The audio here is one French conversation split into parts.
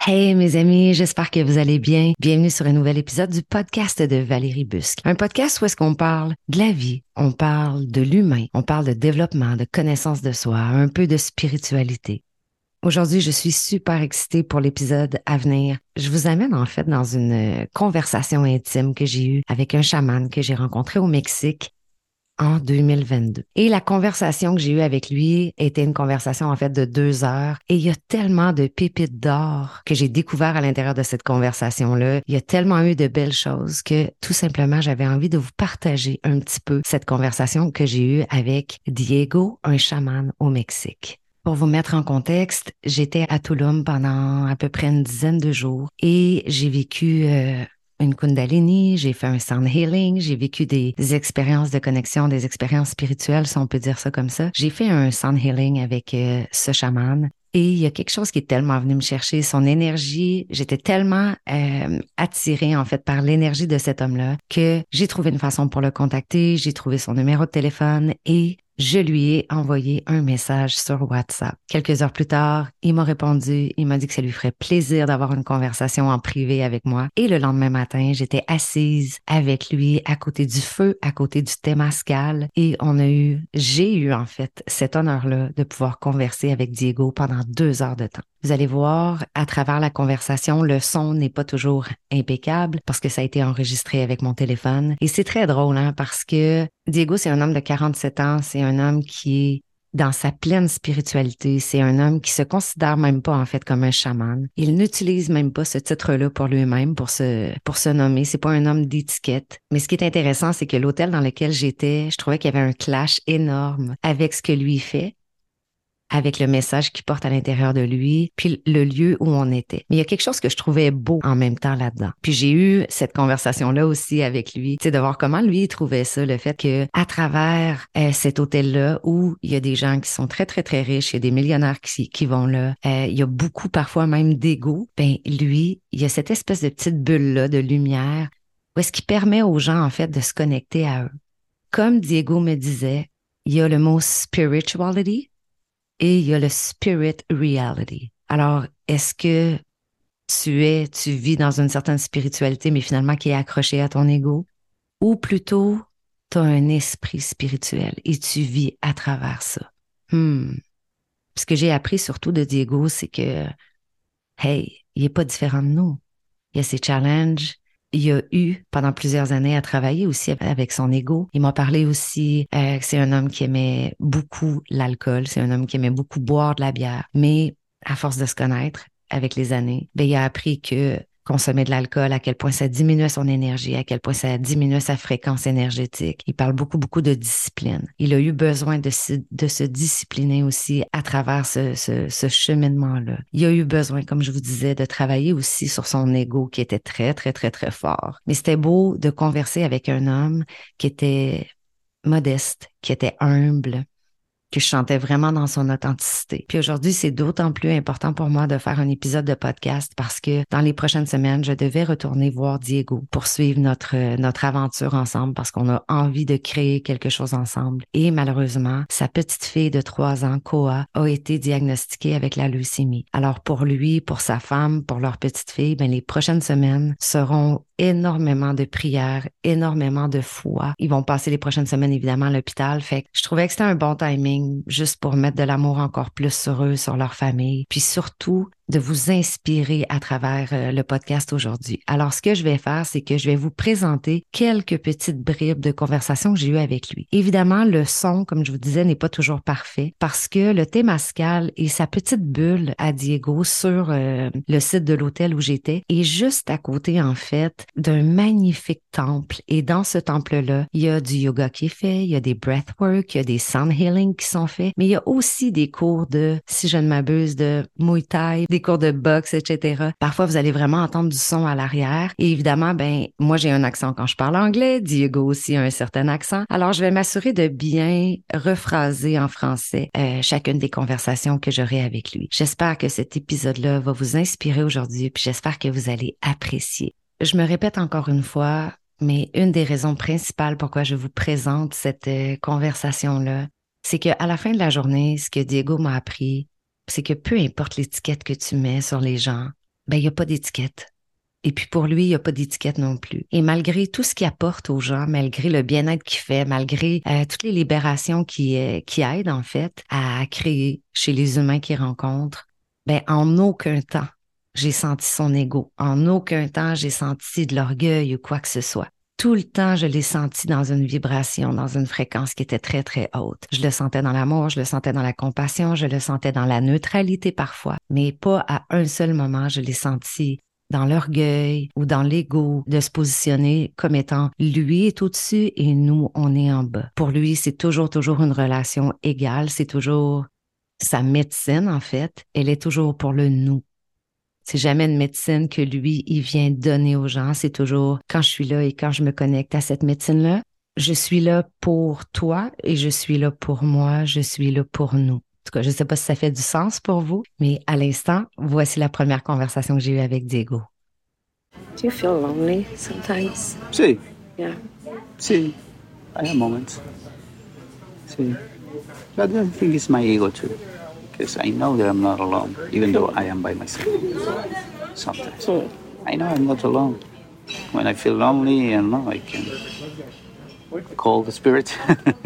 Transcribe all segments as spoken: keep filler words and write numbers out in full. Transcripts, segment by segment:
Hey mes amis, j'espère que vous allez bien. Bienvenue sur un nouvel épisode du podcast de Valérie Busque. Un podcast où est-ce qu'on parle de la vie, on parle de l'humain, on parle de développement, de connaissance de soi, un peu de spiritualité. Aujourd'hui, je suis super excitée pour l'épisode à venir. Je vous amène en fait dans une conversation intime que j'ai eue avec un chaman que j'ai rencontré au Mexique en deux mille vingt-deux. Et la conversation que j'ai eue avec lui était une conversation en fait de deux heures. Et il y a tellement de pépites d'or que j'ai découvert à l'intérieur de cette conversation-là. Il y a tellement eu de belles choses que tout simplement, j'avais envie de vous partager un petit peu cette conversation que j'ai eue avec Diego, un chaman au Mexique. Pour vous mettre en contexte, j'étais à Tulum pendant à peu près une dizaine de jours et j'ai vécu euh, une Kundalini, j'ai fait un sound healing, j'ai vécu des, des expériences de connexion, des expériences spirituelles, si on peut dire ça comme ça. J'ai fait un sound healing avec euh, ce chaman. Et il y a quelque chose qui est tellement venu me chercher, son énergie. J'étais tellement euh, attirée en fait par l'énergie de cet homme-là que j'ai trouvé une façon pour le contacter, j'ai trouvé son numéro de téléphone et je lui ai envoyé un message sur WhatsApp. Quelques heures plus tard, il m'a répondu, il m'a dit que ça lui ferait plaisir d'avoir une conversation en privé avec moi. Et le lendemain matin, j'étais assise avec lui à côté du feu, à côté du Temascal et on a eu, j'ai eu en fait cet honneur-là de pouvoir converser avec Diego pendant deux heures de temps. Vous allez voir, à travers la conversation, le son n'est pas toujours impeccable parce que ça a été enregistré avec mon téléphone. Et c'est très drôle, hein, parce que Diego, c'est un homme de quarante-sept ans, c'est un homme qui est dans sa pleine spiritualité. C'est un homme qui se considère même pas, en fait, comme un chaman. Il n'utilise même pas ce titre-là pour lui-même, pour se, pour se nommer. C'est pas un homme d'étiquette. Mais ce qui est intéressant, c'est que l'hôtel dans lequel j'étais, je trouvais qu'il y avait un clash énorme avec ce que lui fait, avec le message qu'il porte à l'intérieur de lui, puis le lieu où on était. Mais il y a quelque chose que je trouvais beau en même temps là-dedans. Puis j'ai eu cette conversation-là aussi avec lui, tu sais, de voir comment lui il trouvait ça, le fait que à travers euh, cet hôtel-là où il y a des gens qui sont très, très, très riches, il y a des millionnaires qui, qui vont là, euh, il y a beaucoup parfois même d'ego, ben lui, il y a cette espèce de petite bulle-là de lumière où est-ce qu'il permet aux gens, en fait, de se connecter à eux. Comme Diego me disait, il y a le mot spirituality, et il y a le spirit reality. Alors, est-ce que tu es, tu vis dans une certaine spiritualité, mais finalement qui est accrochée à ton ego? Ou plutôt, tu as un esprit spirituel et tu vis à travers ça? Hmm. Ce que j'ai appris surtout de Diego, c'est que, hey, il est pas différent de nous. Il y a ses challenges. Il a eu pendant plusieurs années à travailler aussi avec son ego. Il m'a parlé aussi euh, que c'est un homme qui aimait beaucoup l'alcool, c'est un homme qui aimait beaucoup boire de la bière. Mais à force de se connaître avec les années, ben, il a appris que consommer de l'alcool, à quel point ça diminuait son énergie, à quel point ça diminuait sa fréquence énergétique. Il parle beaucoup, beaucoup de discipline. Il a eu besoin de se, de se discipliner aussi à travers ce, ce, ce cheminement-là. Il a eu besoin, comme je vous disais, de travailler aussi sur son ego qui était très, très, très, très fort. Mais c'était beau de converser avec un homme qui était modeste, qui était humble, que je sentais vraiment dans son authenticité. Puis aujourd'hui, c'est d'autant plus important pour moi de faire un épisode de podcast parce que dans les prochaines semaines, je devais retourner voir Diego pour suivre notre, notre aventure ensemble parce qu'on a envie de créer quelque chose ensemble. Et malheureusement, sa petite fille de trois ans, Koa, a été diagnostiquée avec la leucémie. Alors pour lui, pour sa femme, pour leur petite fille, ben les prochaines semaines seront énormément de prières, énormément de foi. Ils vont passer les prochaines semaines, évidemment, à l'hôpital. Fait que je trouvais que c'était un bon timing juste pour mettre de l'amour encore plus sur eux, sur leur famille. Puis surtout, de vous inspirer à travers euh, le podcast aujourd'hui. Alors, ce que je vais faire, c'est que je vais vous présenter quelques petites bribes de conversation que j'ai eues avec lui. Évidemment, le son, comme je vous disais, n'est pas toujours parfait parce que le Temascal et sa petite bulle à Diego sur euh, le site de l'hôtel où j'étais est juste à côté, en fait, d'un magnifique temple. Et dans ce temple-là, il y a du yoga qui est fait, il y a des breathwork, il y a des sound healing qui sont faits, mais il y a aussi des cours de, si je ne m'abuse, de Muay Thai, des cours de boxe, et cetera. Parfois, vous allez vraiment entendre du son à l'arrière. Et évidemment, ben, moi, j'ai un accent quand je parle anglais. Diego aussi a un certain accent. Alors, je vais m'assurer de bien rephraser en français euh, chacune des conversations que j'aurai avec lui. J'espère que cet épisode-là va vous inspirer aujourd'hui, puis j'espère que vous allez apprécier. Je me répète encore une fois, mais une des raisons principales pourquoi je vous présente cette euh, conversation-là, c'est qu'à la fin de la journée, ce que Diego m'a appris, c'est que peu importe l'étiquette que tu mets sur les gens, ben, il n'y a pas d'étiquette. Et puis pour lui, il n'y a pas d'étiquette non plus. Et malgré tout ce qu'il apporte aux gens, malgré le bien-être qu'il fait, malgré euh, toutes les libérations qui, euh, qui aident en fait à créer chez les humains qu'il rencontre, ben en aucun temps, j'ai senti son ego. En aucun temps, j'ai senti de l'orgueil ou quoi que ce soit. Tout le temps, je l'ai senti dans une vibration, dans une fréquence qui était très, très haute. Je le sentais dans l'amour, je le sentais dans la compassion, je le sentais dans la neutralité parfois, mais pas à un seul moment, je l'ai senti dans l'orgueil ou dans l'ego, de se positionner comme étant lui est au-dessus et nous, on est en bas. Pour lui, c'est toujours, toujours une relation égale. C'est toujours sa médecine, en fait. Elle est toujours pour le nous. C'est jamais une médecine que lui, il vient donner aux gens. C'est toujours quand je suis là et quand je me connecte à cette médecine-là, je suis là pour toi et je suis là pour moi. Je suis là pour nous. En tout cas, je ne sais pas si ça fait du sens pour vous, mais à l'instant, voici la première conversation que j'ai eue avec Diego. Do you feel lonely sometimes? Sí. Yeah. Sí. I have moments. Sí. But I think it's my ego too. Because I know that I'm not alone, even though I am by myself. Sometimes. Mm. I know I'm not alone. When I feel lonely, I know I can call the spirit.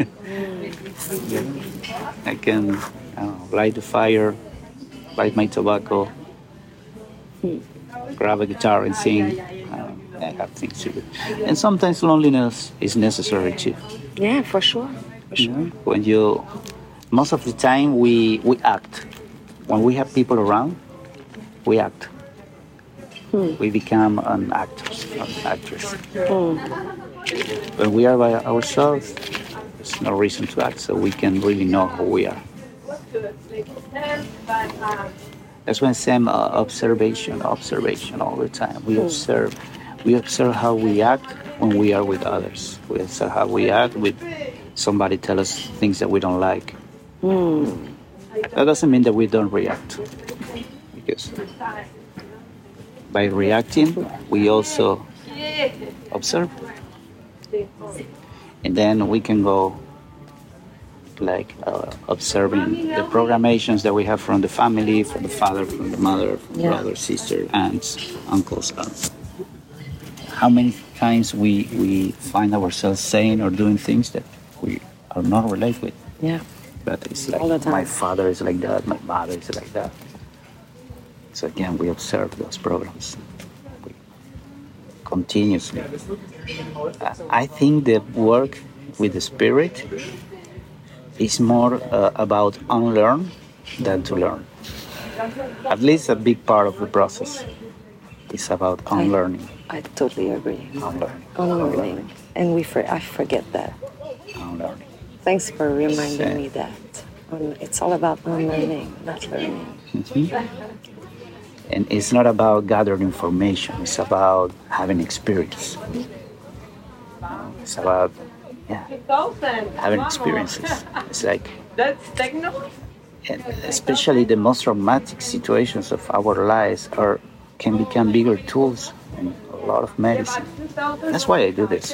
I can I don't know, light the fire, light my tobacco, Mm. grab a guitar and sing. Um, I have things to do. And sometimes loneliness is necessary too. Yeah, for sure. For You sure. know, when you, most of the time we, we act. When we have people around, we act. Hmm. We become an actors, an actress. Mm. When we are by ourselves, there's no reason to act, so we can really know who we are. That's when Sam uh, observation, observation all the time. We Mm. observe, we observe how we act when we are with others. We observe how we act with somebody tell us things that we don't like. Mm. That doesn't mean that we don't react, because by reacting, we also observe, and then we can go like uh, observing the programations that we have from the family, from the father, from the mother, from Yeah. brother, sister, aunts, uncles. Aunts. How many times we, we find ourselves saying or doing things that we are not related with. Yeah. But it's like All the time. my father is like that, my mother is like that. So again, we observe those programs we, continuously. Uh, I think the work with the spirit is more uh, about unlearn than to learn. At least a big part of the process is about unlearning. I totally agree. Unlearning. Unlearning. And we for, I forget that. Unlearning. Thanks for reminding Same. me that. Um, it's all about unlearning, not learning. Mhm. And it's not about gathering information. It's about having experience. It's about, yeah, having experiences. It's like, and especially the most traumatic situations of our lives are can become bigger tools and a lot of medicine. That's why I do this.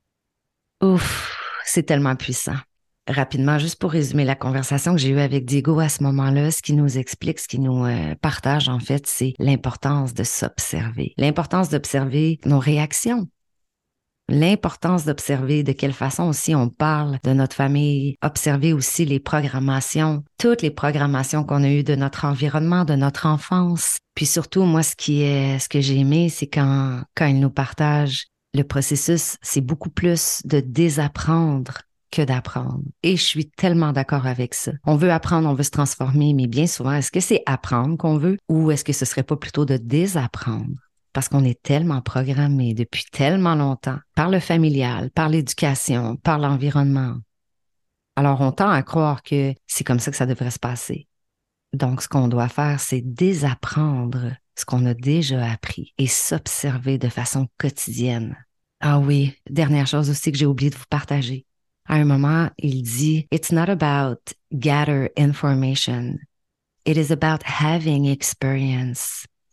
Ouf, c'est tellement puissant. Rapidement, juste pour résumer la conversation que j'ai eue avec Diego à ce moment-là, ce qui nous explique, ce qui nous euh, partage en fait, c'est l'importance de s'observer, l'importance d'observer nos réactions, l'importance d'observer de quelle façon aussi on parle de notre famille, observer aussi les programmations, toutes les programmations qu'on a eues de notre environnement, de notre enfance. Puis surtout, moi, ce qui est, ce que j'ai aimé, c'est quand, quand il nous partage le processus, c'est beaucoup plus de désapprendre que d'apprendre. Et je suis tellement d'accord avec ça. On veut apprendre, on veut se transformer, mais bien souvent, est-ce que c'est apprendre qu'on veut ou est-ce que ce serait pas plutôt de désapprendre? Parce qu'on est tellement programmé depuis tellement longtemps par le familial, par l'éducation, par l'environnement. Alors, on tend à croire que c'est comme ça que ça devrait se passer. Donc, ce qu'on doit faire, c'est désapprendre ce qu'on a déjà appris et s'observer de façon quotidienne. Ah oui, dernière chose aussi que j'ai oublié de vous partager. À un moment, il dit « It's not about gather information. It is about having experience. »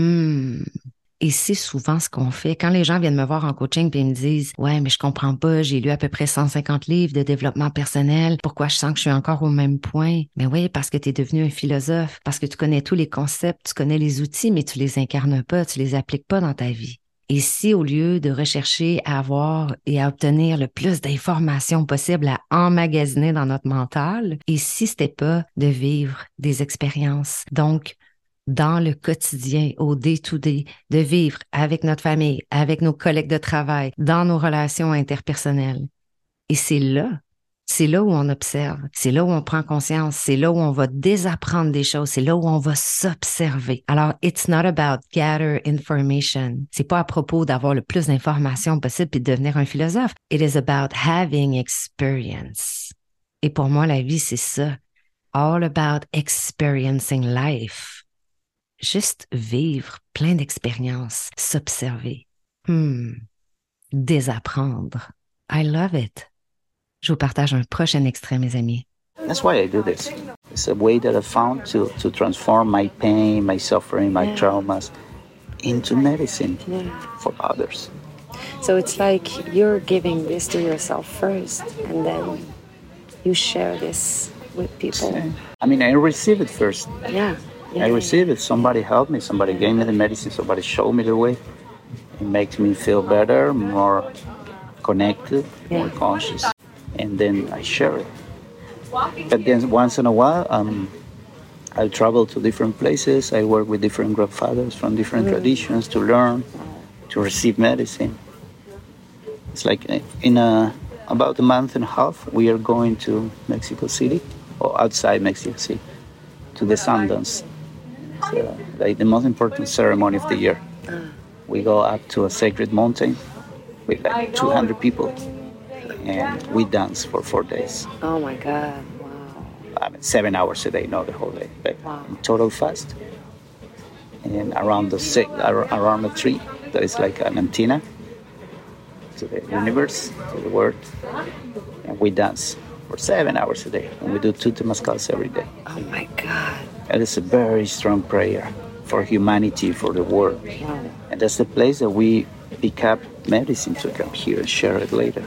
Hmm. Et c'est souvent ce qu'on fait. Quand les gens viennent me voir en coaching et ils me disent « Ouais, mais je comprends pas, j'ai lu à peu près cent cinquante livres de développement personnel. Pourquoi je sens que je suis encore au même point? » Mais oui, parce que tu es devenu un philosophe, parce que tu connais tous les concepts, tu connais les outils, mais tu les incarnes pas, tu les appliques pas dans ta vie. Et si au lieu de rechercher à avoir et à obtenir le plus d'informations possible à emmagasiner dans notre mental, et si c'était pas de vivre des expériences, donc dans le quotidien, au day-to-day, de vivre avec notre famille, avec nos collègues de travail, dans nos relations interpersonnelles. Et c'est là, c'est là où on observe, c'est là où on prend conscience, c'est là où on va désapprendre des choses, c'est là où on va s'observer. Alors, it's not about gather information. C'est pas à propos d'avoir le plus d'informations possible et de devenir un philosophe. It is about having experience. Et pour moi, la vie, c'est ça. All about experiencing life. Juste vivre plein d'expériences, s'observer, hmm, désapprendre. I love it. Je vous partage un prochain extrait, mes amis. That's why I do this. It's a way that I found to, to transform my pain, my suffering, my yeah. traumas into medicine yeah. for others. So it's like you're giving this to yourself first, and then you share this with people. I mean, I receive it first. Yeah. Yeah. I receive it. Somebody helped me. Somebody gave me the medicine. Somebody showed me the way. It makes me feel better, more connected, yeah. more conscious. And then I share it. But then once in a while, um, I travel to different places. I work with different grandfathers from different mm. traditions to learn, to receive medicine. It's like in a, about a month and a half, we are going to Mexico City, or outside Mexico City, to the Sundance. Uh, like the most important ceremony of the year. We go up to a sacred mountain with like two hundred people, and we dance for four days. Oh my God! Wow. I mean, seven hours a day, not the whole day. But wow. Total fast. And around the six, around the tree, there is like an antenna to the universe, to the world, and we dance for seven hours a day, and we do two temazcals every day. Oh my God! That is a very strong prayer for humanity, for the world. Wow. And that's the place that we pick up medicine to come here and share it later.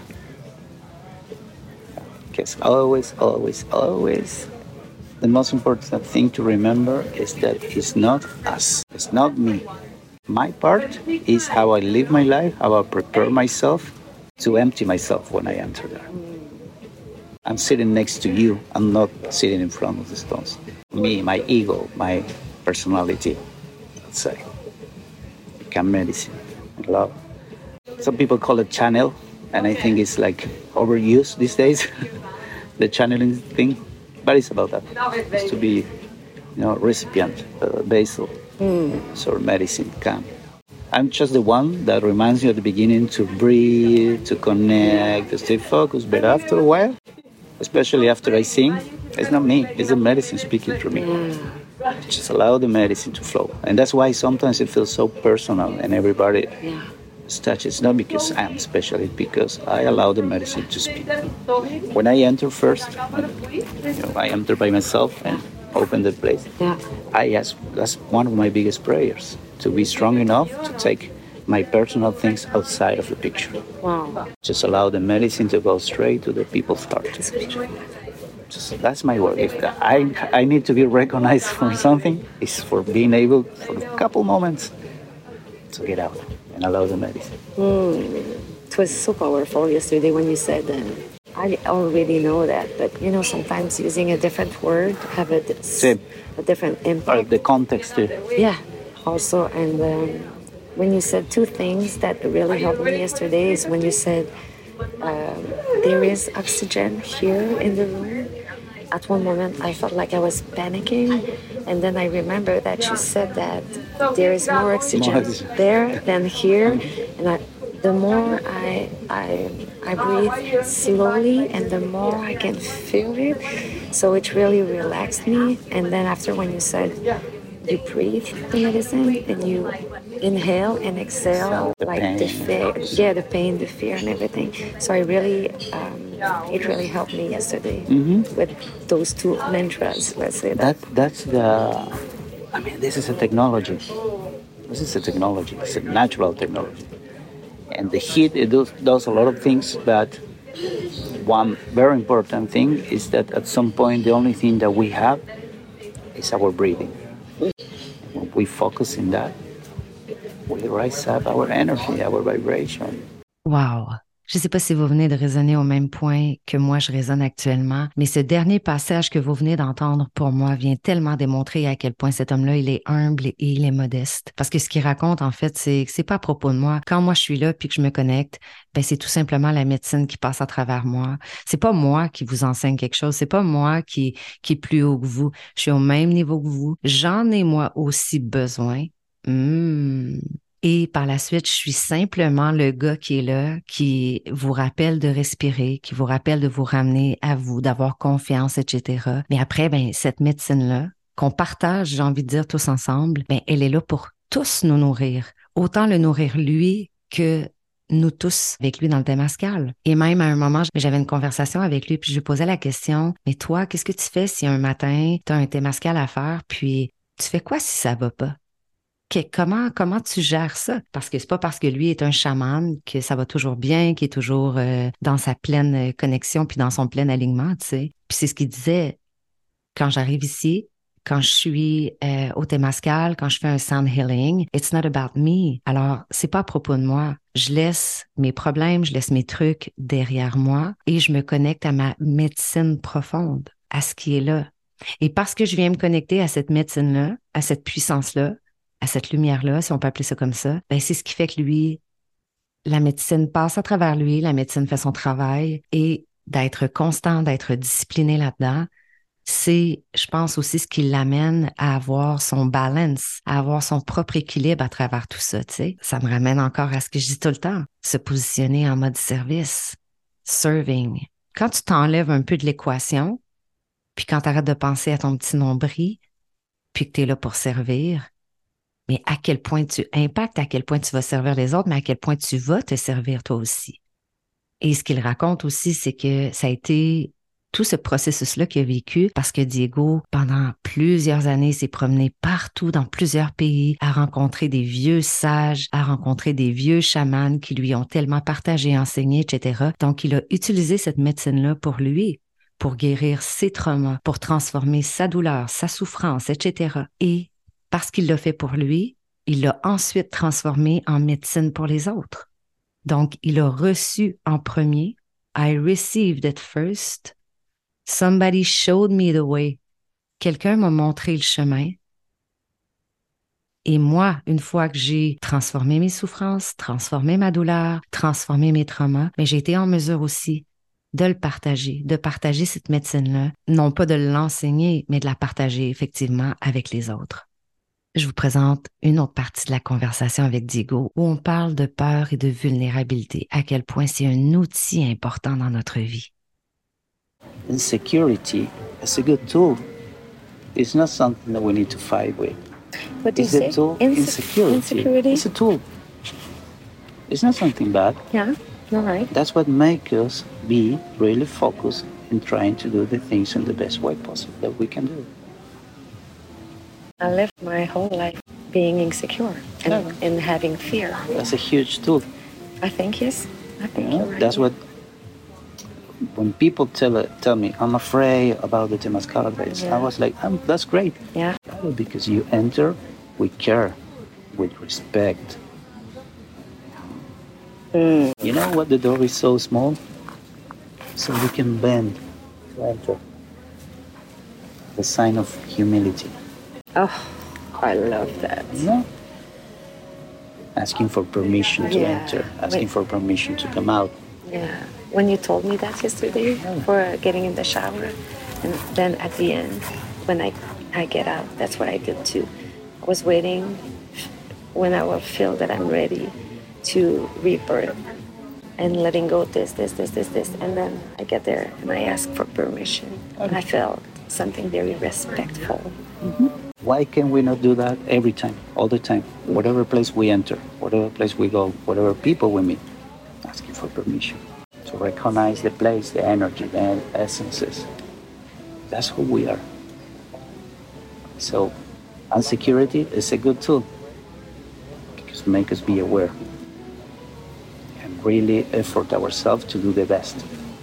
Because always, always, always, the most important thing to remember is that it's not us, it's not me. My part is how I live my life, how I prepare myself to empty myself when I enter there. I'm sitting next to you, I'm not sitting in front of the stones. Me, my ego, my personality, let's say, become medicine and love. Some people call it channel, and I think it's like overused these days, the channeling thing, but it's about that. It's to be, you know, recipient, uh, vessel, mm. so medicine can. I'm just the one that reminds you at the beginning to breathe, to connect, to stay focused, but after a while, especially after I sing, it's not me, it's the medicine speaking through me. Yeah. Just allow the medicine to flow. And that's why sometimes it feels so personal and everybody yeah. is touched. It's not because I'm special, it's because I allow the medicine to speak. When I enter first, when, you know, I enter by myself and open the place, yeah. I ask, that's one of my biggest prayers, to be strong enough to take my personal things outside of the picture. Wow. Just allow the medicine to go straight to the people's heart. Just, that's my work. If I, I need to be recognized for something, it's for being able, for a couple moments, to get out and allow the medicine. Mm. It was so powerful yesterday when you said that. I already know that, but you know, sometimes using a different word have a, a different impact. Or the context too. Yeah, also. And um, when you said two things that really helped me yesterday is when you said um, there is oxygen here in the room. At one moment, I felt like I was panicking, and then I remember that you said that there is more oxygen, more oxygen. there than here, and I, the more I, I I breathe slowly, and the more I can feel it. So it really relaxed me. And then after, when you said you breathe the medicine and you inhale and exhale, the like pain. the fear, yeah, the pain, the fear, and everything. So I really, um, it really helped me yesterday mm-hmm. with those two mantras. Let's say that. that. That's the. I mean, this is a technology. This is a technology. It's a natural technology. And the heat, it does, does a lot of things, but one very important thing is that at some point, the only thing that we have is our breathing. When we focus in that, we rise up our energy, our vibration. Wow! Je ne sais pas si vous venez de résonner au même point que moi je résonne actuellement, mais ce dernier passage que vous venez d'entendre pour moi vient tellement démontrer à quel point cet homme-là, il est humble et il est modeste. Parce que ce qu'il raconte, en fait, c'est que c'est pas à propos de moi. Quand moi je suis là puis que je me connecte, ben c'est tout simplement la médecine qui passe à travers moi. C'est pas moi qui vous enseigne quelque chose, c'est pas moi qui, qui est plus haut que vous. Je suis au même niveau que vous. J'en ai moi aussi besoin. Mmh. Et par la suite, je suis simplement le gars qui est là, qui vous rappelle de respirer, qui vous rappelle de vous ramener à vous, d'avoir confiance, et cetera. Mais après, ben cette médecine-là, qu'on partage, j'ai envie de dire tous ensemble, ben elle est là pour tous nous nourrir. Autant le nourrir lui que nous tous avec lui dans le Temazcal. Et même à un moment, j'avais une conversation avec lui, puis je lui posais la question, mais toi, qu'est-ce que tu fais si un matin, tu as un Temazcal à faire, puis tu fais quoi si ça va pas? Que, comment, comment tu gères ça? Parce que c'est pas parce que lui est un chaman que ça va toujours bien, qu'il est toujours euh, dans sa pleine connexion puis dans son plein alignement, tu sais. Puis c'est ce qu'il disait, quand j'arrive ici, quand je suis euh, au Temazcal, quand je fais un sound healing, it's not about me. Alors, c'est pas à propos de moi. Je laisse mes problèmes, je laisse mes trucs derrière moi et je me connecte à ma médecine profonde, à ce qui est là. Et parce que je viens me connecter à cette médecine-là, à cette puissance-là, à cette lumière-là, si on peut appeler ça comme ça, ben c'est ce qui fait que lui, la médecine passe à travers lui, la médecine fait son travail et d'être constant, d'être discipliné là-dedans, c'est, je pense aussi, ce qui l'amène à avoir son balance, à avoir son propre équilibre à travers tout ça, tu sais. Ça me ramène encore à ce que je dis tout le temps, se positionner en mode service, serving. Quand tu t'enlèves un peu de l'équation, puis quand tu arrêtes de penser à ton petit nombril, puis que tu es là pour servir, mais à quel point tu impactes, à quel point tu vas servir les autres, mais à quel point tu vas te servir toi aussi. Et ce qu'il raconte aussi, c'est que ça a été tout ce processus-là qu'il a vécu parce que Diego, pendant plusieurs années, s'est promené partout dans plusieurs pays, a rencontré des vieux sages, a rencontré des vieux chamans qui lui ont tellement partagé, enseigné, et cetera. Donc, il a utilisé cette médecine-là pour lui, pour guérir ses traumas, pour transformer sa douleur, sa souffrance, et cetera. Et parce qu'il l'a fait pour lui, il l'a ensuite transformé en médecine pour les autres. Donc, il a reçu en premier. I received it first. Somebody showed me the way. Quelqu'un m'a montré le chemin. Et moi, une fois que j'ai transformé mes souffrances, transformé ma douleur, transformé mes traumas, mais j'ai été en mesure aussi de le partager, de partager cette médecine-là, non pas de l'enseigner, mais de la partager effectivement avec les autres. Je vous présente une autre partie de la conversation avec Diego où on parle de peur et de vulnérabilité, à quel point c'est un outil important dans notre vie. Insecurity is a good tool. It's not something that we need to fight with. What do you It's say? a tool. Inse- Insecurity. insecurity? It's a tool. It's not something bad. Yeah, all right. That's what makes us be really focused in trying to do the things in the best way possible that we can do. I lived my whole life being insecure and, Yeah. and having fear. That's a huge tool. I think yes. I think You know, you're right. that's what. When people tell tell me I'm afraid about the Temazcal days, Yeah. I was like, um, that's great. Yeah. Because you enter with care, with respect. Mm. You know what? The door is so small, so we can bend to enter. The sign of humility. Oh, I love that. You know? Asking for permission to Yeah. enter, asking Wait. for permission to come out. Yeah. When you told me that yesterday for getting in the shower, and then at the end, when I I get out, that's what I did too. I was waiting when I will feel that I'm ready to rebirth and letting go this, this, this, this, this, and then I get there and I ask for permission. And I felt something very respectful. Mm-hmm. Why can we not do that every time, all the time? Whatever place we enter, whatever place we go, whatever people we meet, asking for permission to recognize the place, the energy, the essences. That's who we are. So, insecurity is a good tool. just make us be aware and really effort ourselves to do the best.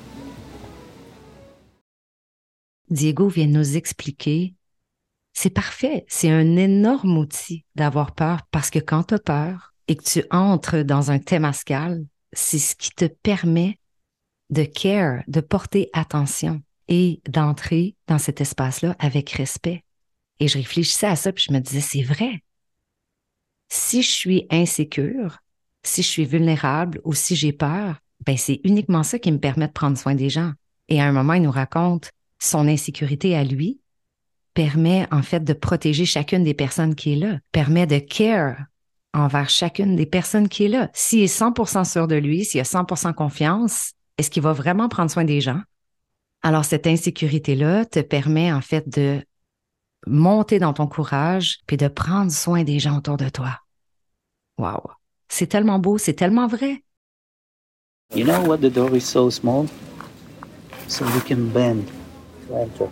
Diego vient de nous expliquer, c'est parfait, c'est un énorme outil d'avoir peur parce que quand tu as peur et que tu entres dans un temazcal, c'est ce qui te permet de care, de porter attention et d'entrer dans cet espace-là avec respect. Et je réfléchissais à ça puis je me disais, c'est vrai. Si je suis insécure, si je suis vulnérable ou si j'ai peur, ben c'est uniquement ça qui me permet de prendre soin des gens. Et à un moment, il nous raconte son insécurité à lui permet en fait de protéger chacune des personnes qui est là, permet de care envers chacune des personnes qui est là. S'il est cent pour cent sûr de lui, s'il a cent pour cent confiance, est-ce qu'il va vraiment prendre soin des gens? Alors cette insécurité-là te permet en fait de monter dans ton courage puis de prendre soin des gens autour de toi. Wow! C'est tellement beau, c'est tellement vrai. You know what, the door is so small, so we can bend to enter.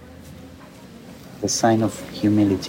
The sign of humility.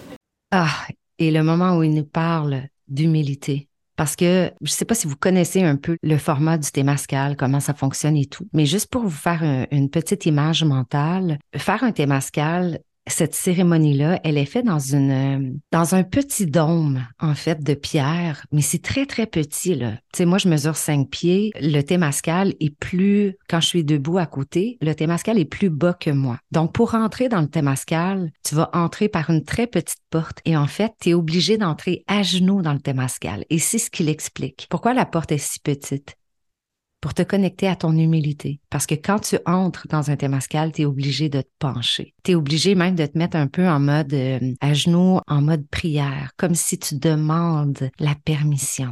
Ah, et le moment où il nous parle d'humilité. Parce que je ne sais pas si vous connaissez un peu le format du temazcal, comment ça fonctionne et tout, mais juste pour vous faire un, une petite image mentale, faire un temazcal, cette cérémonie-là, elle est faite dans une dans un petit dôme, en fait, de pierre, mais c'est très, très petit, là. Tu sais, moi, je mesure cinq pieds. Le temazcal est plus, quand je suis debout à côté, le temazcal est plus bas que moi. Donc, pour rentrer dans le temazcal, tu vas entrer par une très petite porte et en fait, tu es obligé d'entrer à genoux dans le temazcal. Et c'est ce qu'il explique. Pourquoi la porte est si petite? Pour te connecter à ton humilité. Parce que quand tu entres dans un temazcal, tu es obligé de te pencher. Tu es obligé même de te mettre un peu en mode euh, à genoux, en mode prière, comme si tu demandes la permission.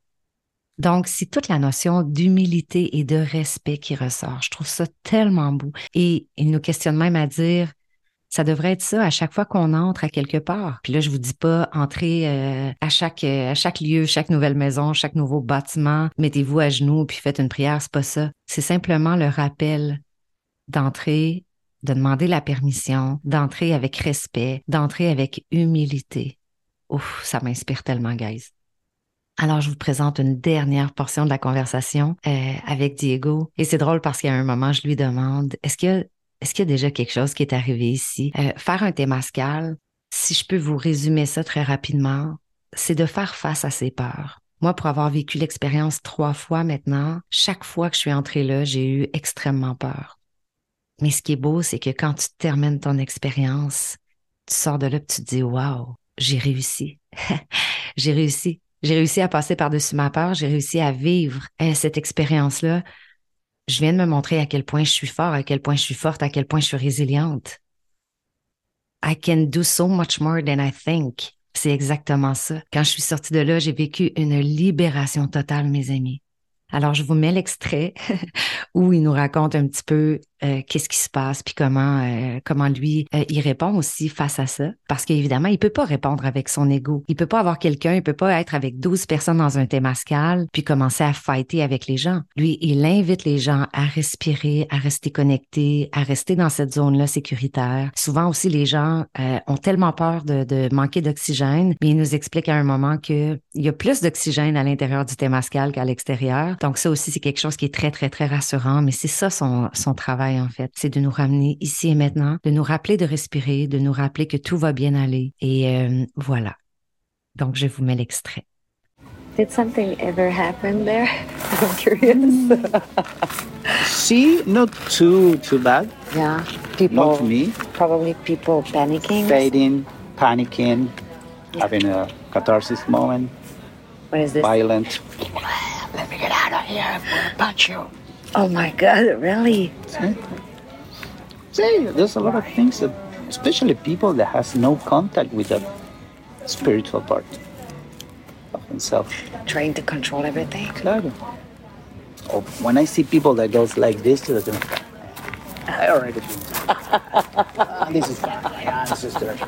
Donc, c'est toute la notion d'humilité et de respect qui ressort. Je trouve ça tellement beau. Et il nous questionne même à dire, ça devrait être ça à chaque fois qu'on entre à quelque part. Puis là, je vous dis pas entrer euh, à chaque euh, à chaque lieu, chaque nouvelle maison, chaque nouveau bâtiment, mettez-vous à genoux puis faites une prière, c'est pas ça. C'est simplement le rappel d'entrer, de demander la permission, d'entrer avec respect, d'entrer avec humilité. Ouf, ça m'inspire tellement, guys. Alors, je vous présente une dernière portion de la conversation euh, avec Diego. Et c'est drôle parce qu'à un moment, je lui demande, est-ce qu'il y a Est-ce qu'il y a déjà quelque chose qui est arrivé ici? Euh, faire un temazcal, si je peux vous résumer ça très rapidement, c'est de faire face à ses peurs. Moi, pour avoir vécu l'expérience trois fois maintenant, chaque fois que je suis entrée là, j'ai eu extrêmement peur. Mais ce qui est beau, c'est que quand tu termines ton expérience, tu sors de là et tu te dis « Wow, j'ai réussi. j'ai réussi. J'ai réussi à passer par-dessus ma peur. J'ai réussi à vivre euh, cette expérience-là. » Je viens de me montrer à quel point je suis fort, à quel point je suis forte, à quel point je suis résiliente. I can do so much more than I think. C'est exactement ça. Quand je suis sortie de là, j'ai vécu une libération totale, mes amis. Alors, je vous mets l'extrait où il nous raconte un petit peu euh, qu'est-ce qui se passe puis comment euh, comment lui, euh, il répond aussi face à ça. Parce qu'évidemment, il peut pas répondre avec son ego. Il peut pas avoir quelqu'un, il peut pas être avec douze personnes dans un temazcal puis commencer à fighter avec les gens. Lui, il invite les gens à respirer, à rester connectés, à rester dans cette zone-là sécuritaire. Souvent aussi, les gens euh, ont tellement peur de, de manquer d'oxygène, mais il nous explique à un moment qu'il y a plus d'oxygène à l'intérieur du temazcal qu'à l'extérieur. Donc ça aussi, c'est quelque chose qui est très, très, très rassurant, mais c'est ça son, son travail en fait. C'est de nous ramener ici et maintenant, de nous rappeler de respirer, de nous rappeler que tout va bien aller. Et euh, voilà. Donc, je vous mets l'extrait. Did something ever happen there? I'm curious. See, not too too bad. Yeah, people. Not me. Probably people panicking. Fading, panicking, yeah. Having a catharsis moment. What is this? Violent. Let me get out of here. I'm gonna punch you. Oh my God! Really? See, See there's a lot of things that, especially people that has no contact with the spiritual part of themselves. Trying to control everything. Claro. Or when I see people that goes like this to the, I already do. This is fine. Yeah, this is good.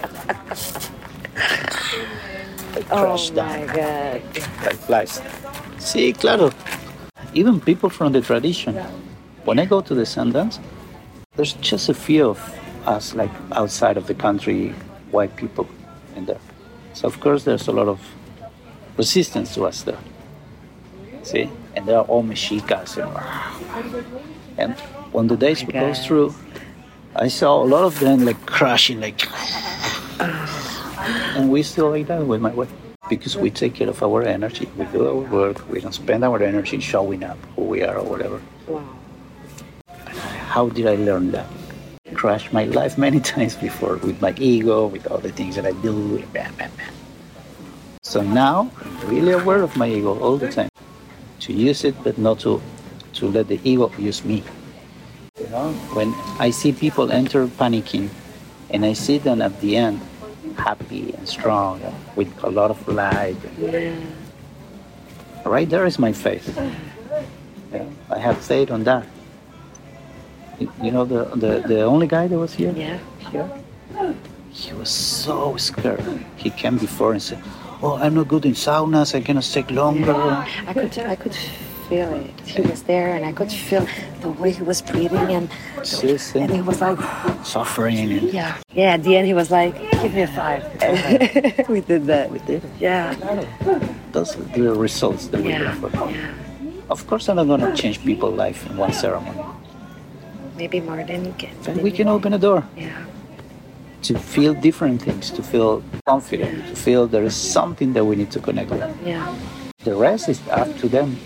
Oh my God. Like flies. Sí, claro. Even people from the tradition. When I go to the Sundance, there's just a few of us, like outside of the country, white people in there. So of course there's a lot of resistance to us there. See? And they're all mexicas. And, and when the days would go through, I saw a lot of them like crashing, like... And we still like that with my wife. Because we take care of our energy. We do our work. We don't spend our energy showing up who we are or whatever. Wow. How did I learn that? I crashed my life many times before with my ego, with all the things that I do. Bam, bam, bam. So now, I'm really aware of my ego all the time. To use it, but not to, to let the ego use me. You know, when I see people enter panicking, and I see them at the end, happy and strong, and with a lot of light. Yeah. Right there is my faith. Yeah, I have faith on that. You, you know, the, the, the only guy that was here? Yeah. Here? He was so scared. He came before and said, oh, I'm not good in saunas, I cannot take longer. Yeah. I could, I could feel it. He was there, and I could feel the way he was breathing, and Yes, and he was like, suffering. And yeah, yeah. At the end, he was like, give me a five. We did that. we did it. Yeah. Those are the results that we Yeah. got for. Yeah. Of course, I'm not going to change people's life in one ceremony. Maybe more than you can. But we can open a door Yeah. to feel different things, to feel confident, to feel there is something that we need to connect with. Yeah. The rest is up to them.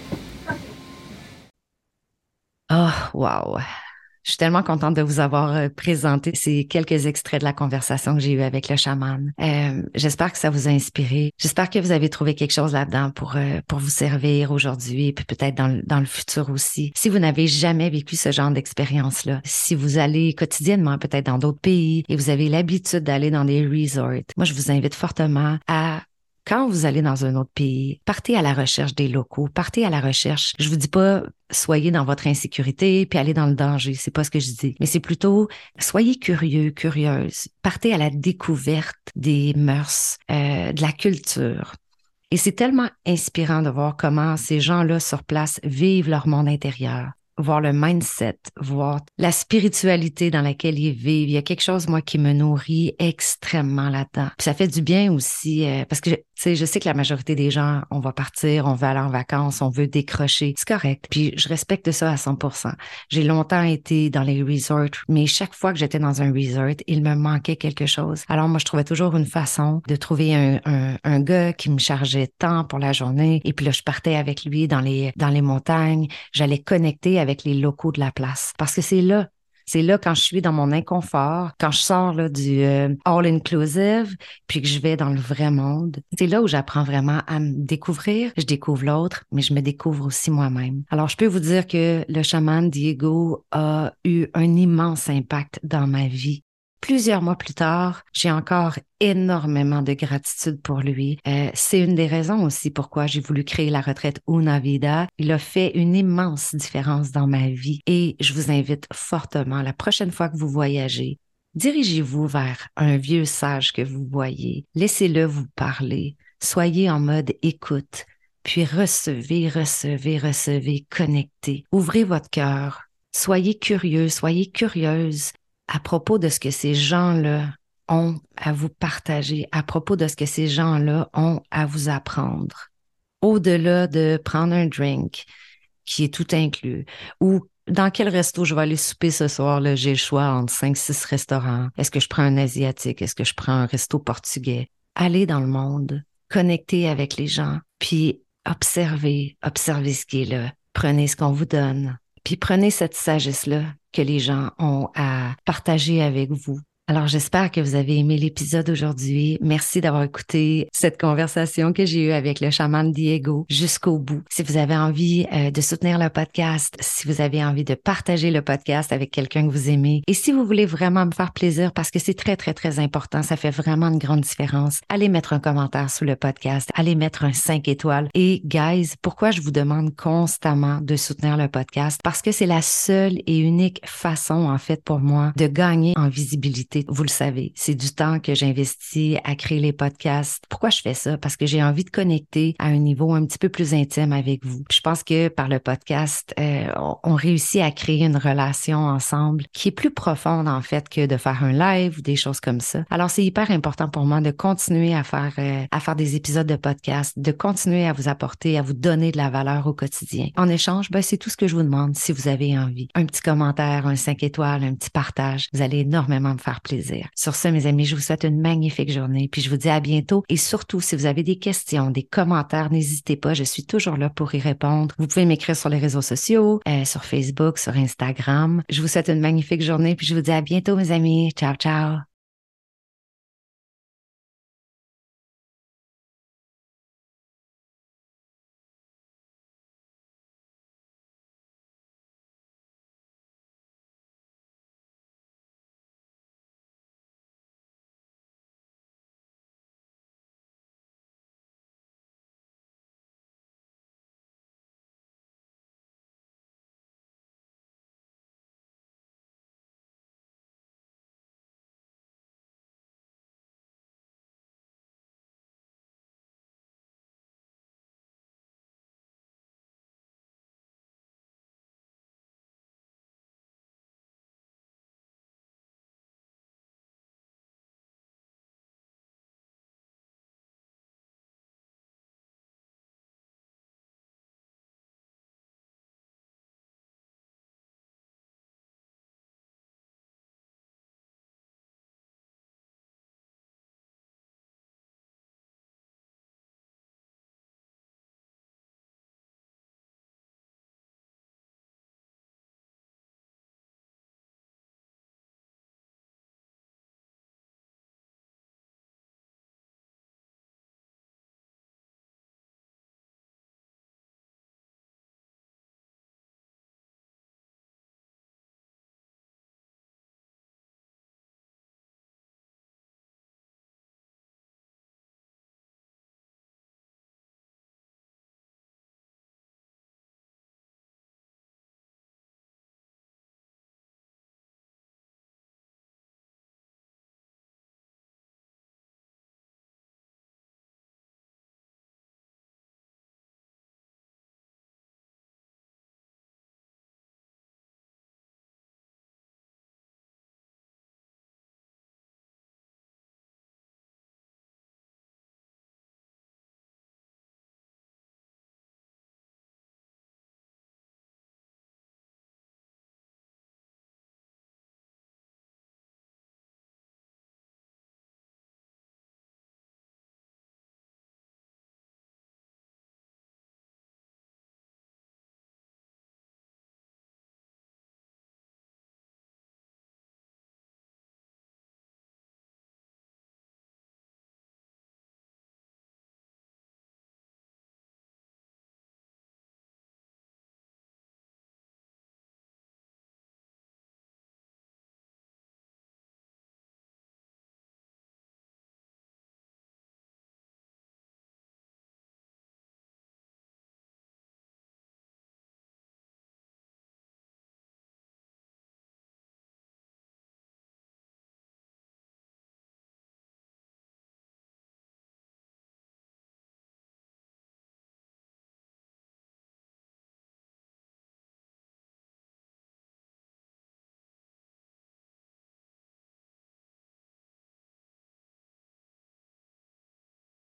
Oh, wow! Je suis tellement contente de vous avoir euh, présenté ces quelques extraits de la conversation que j'ai eue avec le chaman. Euh, j'espère que ça vous a inspiré. J'espère que vous avez trouvé quelque chose là-dedans pour euh, pour vous servir aujourd'hui, puis peut-être dans le, dans le futur aussi. Si vous n'avez jamais vécu ce genre d'expérience-là, si vous allez quotidiennement peut-être dans d'autres pays et vous avez l'habitude d'aller dans des resorts, moi, je vous invite fortement à... Quand vous allez dans un autre pays, partez à la recherche des locaux, partez à la recherche. Je vous dis pas soyez dans votre insécurité puis allez dans le danger, c'est pas ce que je dis, mais c'est plutôt soyez curieux, curieuse. Partez à la découverte des mœurs, euh, de la culture. Et c'est tellement inspirant de voir comment ces gens-là sur place vivent leur monde intérieur. Voir le mindset, voir la spiritualité dans laquelle ils vivent. Il y a quelque chose, moi, qui me nourrit extrêmement là-dedans. Puis ça fait du bien aussi, euh, parce que, tu sais, je sais que la majorité des gens, on va partir, on veut aller en vacances, on veut décrocher. C'est correct. Puis je respecte ça à cent pour cent. J'ai longtemps été dans les resorts, mais chaque fois que j'étais dans un resort, il me manquait quelque chose. Alors moi, je trouvais toujours une façon de trouver un, un, un gars qui me chargeait tant pour la journée. Et puis là, je partais avec lui dans les, dans les montagnes. J'allais connecter avec avec les locaux de la place. Parce que c'est là, c'est là quand je suis dans mon inconfort, quand je sors là, du euh, all-inclusive, puis que je vais dans le vrai monde, c'est là où j'apprends vraiment à me découvrir. Je découvre l'autre, mais je me découvre aussi moi-même. Alors, je peux vous dire que le chaman Diego a eu un immense impact dans ma vie. Plusieurs mois plus tard, j'ai encore énormément de gratitude pour lui. Euh, c'est une des raisons aussi pourquoi j'ai voulu créer la retraite Una Vida. Il a fait une immense différence dans ma vie et je vous invite fortement, la prochaine fois que vous voyagez, dirigez-vous vers un vieux sage que vous voyez. Laissez-le vous parler. Soyez en mode écoute, puis recevez, recevez, recevez, connectez. Ouvrez votre cœur. Soyez curieux, soyez curieuse à propos de ce que ces gens-là ont à vous partager, à propos de ce que ces gens-là ont à vous apprendre. Au-delà de prendre un drink qui est tout inclus, ou dans quel resto je vais aller souper ce soir, là, j'ai le choix entre cinq, six restaurants. Est-ce que je prends un asiatique? Est-ce que je prends un resto portugais? Allez dans le monde, connectez avec les gens, puis observez, observez ce qui est là. Prenez ce qu'on vous donne, puis prenez cette sagesse-là que les gens ont à partager avec vous. Alors, j'espère que vous avez aimé l'épisode aujourd'hui. Merci d'avoir écouté cette conversation que j'ai eue avec le chaman Diego jusqu'au bout. Si vous avez envie euh, de soutenir le podcast, si vous avez envie de partager le podcast avec quelqu'un que vous aimez, et si vous voulez vraiment me faire plaisir, parce que c'est très, très, très important, ça fait vraiment une grande différence, allez mettre un commentaire sous le podcast, allez mettre un cinq étoiles. Et guys, pourquoi je vous demande constamment de soutenir le podcast? Parce que c'est la seule et unique façon, en fait, pour moi, de gagner en visibilité qualité, vous le savez. C'est du temps que j'investis à créer les podcasts. Pourquoi je fais ça? Parce que j'ai envie de connecter à un niveau un petit peu plus intime avec vous. Puis je pense que par le podcast, euh, on, on réussit à créer une relation ensemble qui est plus profonde en fait que de faire un live ou des choses comme ça. Alors c'est hyper important pour moi de continuer à faire euh, à faire des épisodes de podcast, de continuer à vous apporter, à vous donner de la valeur au quotidien. En échange, ben c'est tout ce que je vous demande si vous avez envie. Un petit commentaire, un cinq étoiles, un petit partage, vous allez énormément me faire plaisir. Sur ce, mes amis, je vous souhaite une magnifique journée, puis je vous dis à bientôt. Et surtout, si vous avez des questions, des commentaires, n'hésitez pas, je suis toujours là pour y répondre. Vous pouvez m'écrire sur les réseaux sociaux, euh, sur Facebook, sur Instagram. Je vous souhaite une magnifique journée, puis je vous dis à bientôt, mes amis. Ciao, ciao!